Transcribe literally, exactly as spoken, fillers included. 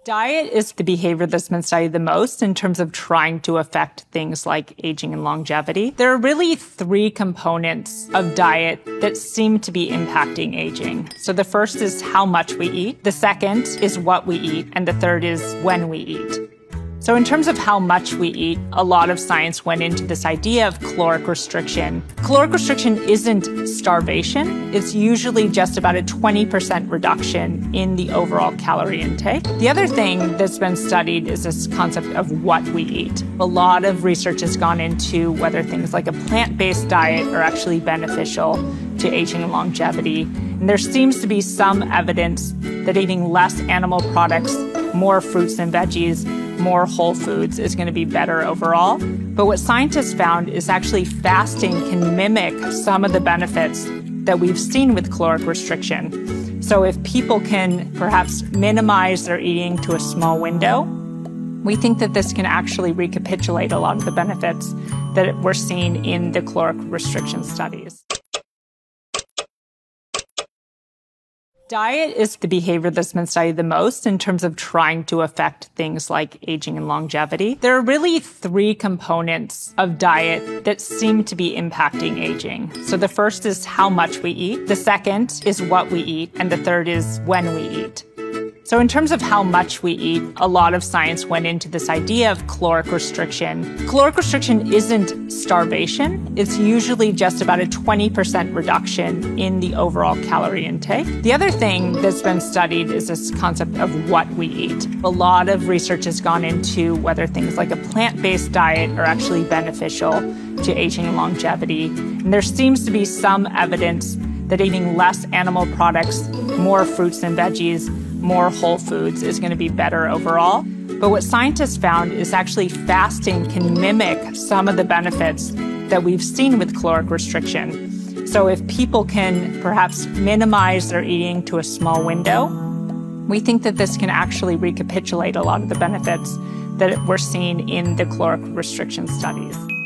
Diet is the behavior that's been studied the most in terms of trying to affect things like aging and longevity. There are really three components of diet that seem to be impacting aging. So the first is how much we eat, the second is what we eat, and the third is when we eat. So in terms of how much we eat, a lot of science went into this idea of caloric restriction. Caloric restriction isn't starvation. It's usually just about a twenty percent reduction in the overall calorie intake. The other thing that's been studied is this concept of what we eat. A lot of research has gone into whether things like a plant-based diet are actually beneficial to aging and longevity. And there seems to be some evidence that eating less animal products, more fruits and veggies, more whole foods is going to be better overall. But what scientists found is actually fasting can mimic some of the benefits that we've seen with caloric restriction. So if people can perhaps minimize their eating to a small window, we think that this can actually recapitulate a lot of the benefits that we're seeing in the caloric restriction studies. Diet is the behavior that's been studied the most in terms of trying to affect things like aging and longevity. There are really three components of diet that seem to be impacting aging. So the first is how much we eat, the second is what we eat, and the third is when we eat. So in terms of how much we eat, a lot of science went into this idea of caloric restriction. Caloric restriction isn't starvation. It's usually just about a twenty percent reduction in the overall calorie intake. The other thing that's been studied is this concept of what we eat. A lot of research has gone into whether things like a plant-based diet are actually beneficial to aging and longevity. And there seems to be some evidence that eating less animal products, more fruits and veggies, more whole foods is going to be better overall. But what scientists found is actually fasting can mimic some of the benefits that we've seen with caloric restriction. So if people can perhaps minimize their eating to a small window, we think that this can actually recapitulate a lot of the benefits that we're seeing in the caloric restriction studies.